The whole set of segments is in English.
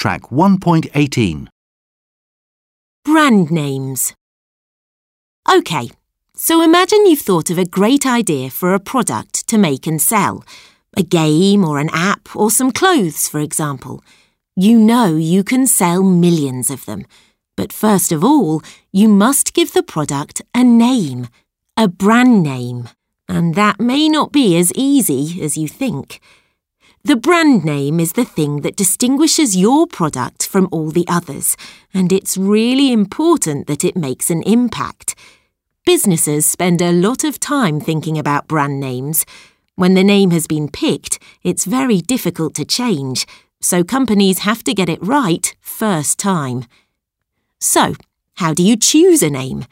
Track 1.18. Brand names. OK, so imagine you've thought of a great idea for a product to make and sell. A game or an app or some clothes, for example. You know you can sell millions of them. But first of all, you must give the product a name, a brand name. And that may not be as easy as you think. The brand name is the thing that distinguishes your product from all the others, and it's really important that it makes an impact. Businesses spend a lot of time thinking about brand names. When the name has been picked, it's very difficult to change, so companies have to get it right first time. So, how do you choose a name?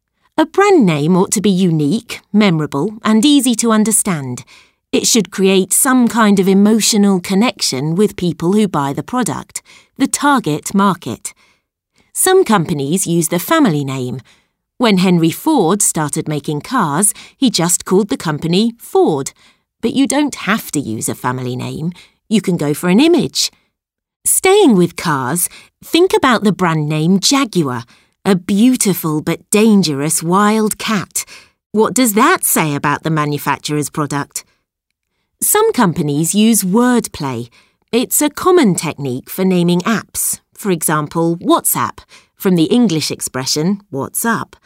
A brand name ought to be unique, memorable, and easy to understand. It should create some kind of emotional connection with people who buy the product, the target market. Some companies use the family name. When Henry Ford started making cars, he just called the company Ford. But you don't have to use a family name. You can go for an image. Staying with cars, think about the brand name Jaguar, a beautiful but dangerous wild cat. What does that say about the manufacturer's product? Some companies use wordplay. It's a common technique for naming apps. For example, WhatsApp, from the English expression, what's up.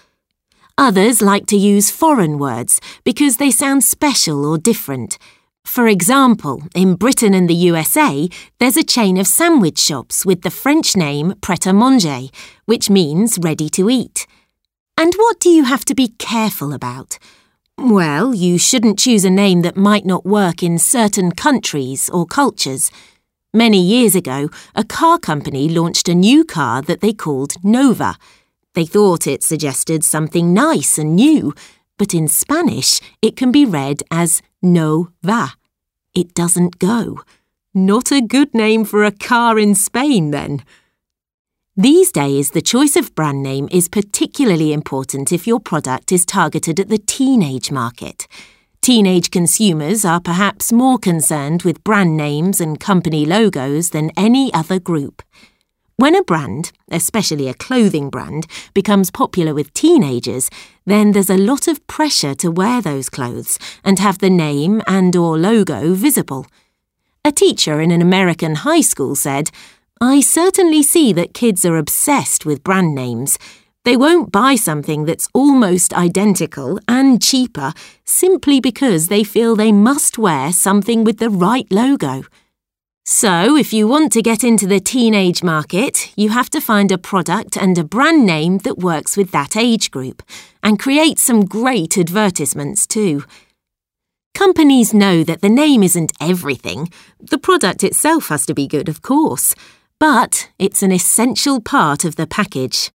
Others like to use foreign words because they sound special or different. For example, in Britain and the USA, there's a chain of sandwich shops with the French name Pret-a-Manger, which means ready to eat. And what do you have to be careful about? Well, you shouldn't choose a name that might not work in certain countries or cultures. Many years ago, a car company launched a new car that they called Nova. They thought it suggested something nice and new, but in Spanish it can be read as no va. It doesn't go. Not a good name for a car in Spain, then. These days, the choice of brand name is particularly important if your product is targeted at the teenage market. Teenage consumers are perhaps more concerned with brand names and company logos than any other group. When a brand, especially a clothing brand, becomes popular with teenagers, then there's a lot of pressure to wear those clothes and have the name and/or logo visible. A teacher in an American high school said, "I certainly see that kids are obsessed with brand names. They won't buy something that's almost identical and cheaper simply because they feel they must wear something with the right logo." So, if you want to get into the teenage market, you have to find a product and a brand name that works with that age group, and create some great advertisements too. Companies know that the name isn't everything. The product itself has to be good, of course, but it's an essential part of the package.